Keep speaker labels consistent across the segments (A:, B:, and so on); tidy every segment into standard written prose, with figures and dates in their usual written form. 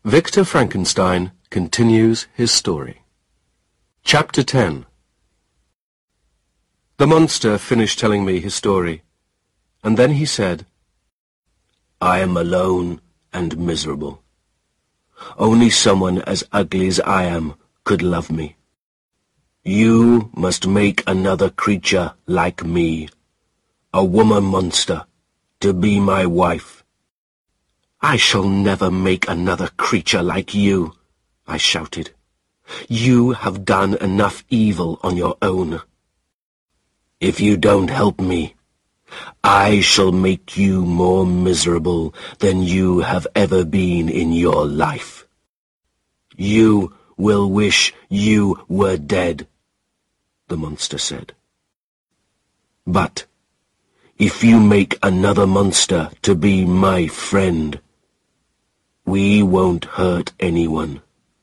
A: Victor Frankenstein continues his story. Chapter 10. The monster finished telling me his story, and then he said, "I am alone and miserable. Only someone as ugly as I am could love me. You must make another creature like me, a woman monster, to be my wife." "I shall never make another creature like you," I shouted. "You have done enough evil on your own. If you don't help me, I shall make you more miserable than you have ever been in your life. You will wish you were dead," the monster said. "But if you make another monster to be my friend, we won't hurt anyone.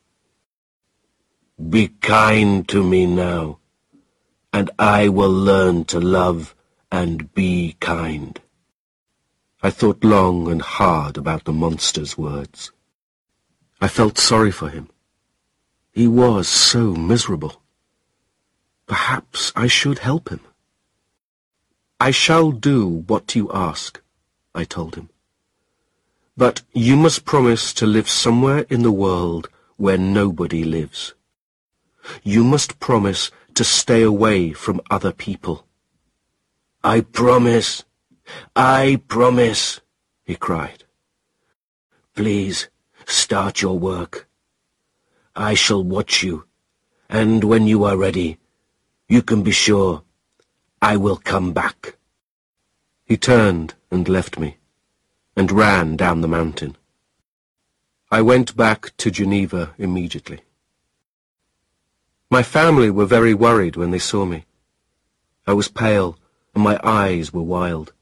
A: Be kind to me now, and I will learn to love and be kind." I thought long and hard about the monster's words. I felt sorry for him. He was so miserable. Perhaps I should help him. "I shall do what you ask," I told him. "But you must promise to live somewhere in the world where nobody lives. You must promise to stay away from other people." "I promise! I promise!" he cried. "Please start your work. I shall watch you, and when you are ready, you can be sure I will come back." He turned and left me, and ran down the mountain. I went back to Geneva immediately. My family were very worried when they saw me. I was pale, and my eyes were wild.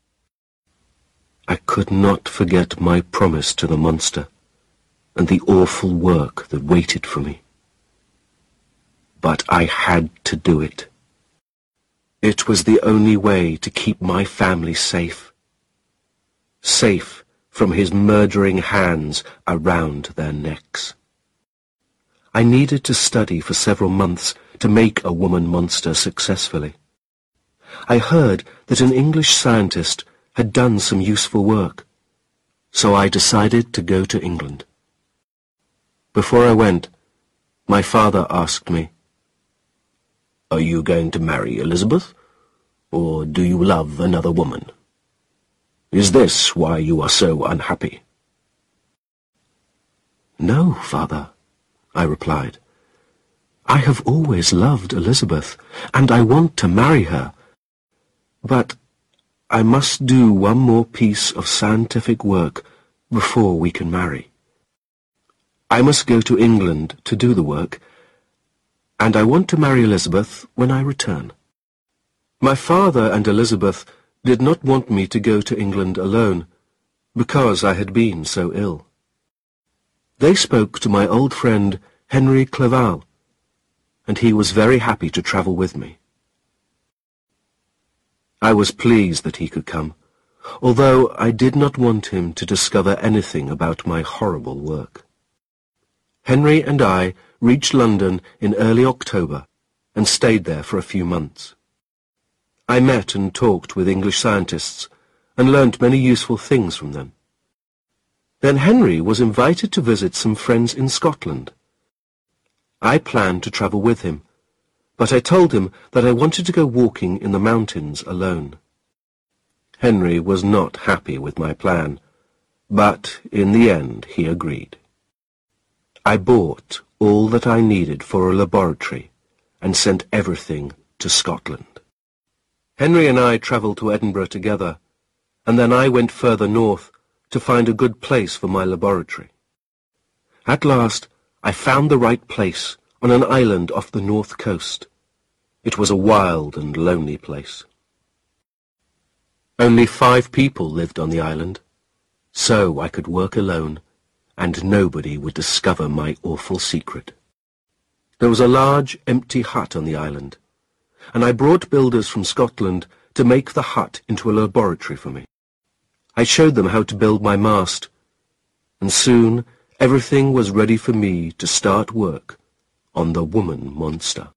A: I could not forget my promise to the monster, and the awful work that waited for me. But I had to do it. It was the only way to keep my family safe. Safe from his murdering hands around their necks. I needed to study for several months to make a woman monster successfully. I heard that an English scientist had done some useful work, so I decided to go to England. Before I went, my father asked me, "Are you going to marry Elizabeth, or do you love another woman? Is this why you are so unhappy?" "No, father," I replied. "I have always loved Elizabeth, and I want to marry her. But I must do one more piece of scientific work before we can marry. I must go to England to do the work, and I want to marry Elizabeth when I return." My father and Elizabeth did not want me to go to England alone, because I had been so ill. They spoke to my old friend Henry Clerval, and he was very happy to travel with me. I was pleased that he could come, although I did not want him to discover anything about my horrible work. Henry and I reached London in early October and stayed there for a few months. I met and talked with English scientists and learnt many useful things from them. Then Henry was invited to visit some friends in Scotland. I planned to travel with him, but I told him that I wanted to go walking in the mountains alone. Henry was not happy with my plan, but in the end he agreed. I bought all that I needed for a laboratory and sent everything to Scotland. Henry and I travelled to Edinburgh together, and then I went further north to find a good place for my laboratory. At last, I found the right place on an island off the north coast. It was a wild and lonely place. Only 5 people lived on the island, so I could work alone, and nobody would discover my awful secret. There was a large, empty hut on the island, and I brought builders from Scotland to make the hut into a laboratory for me. I showed them how to build my mast, and soon Everything was ready for me to start work on the woman monster.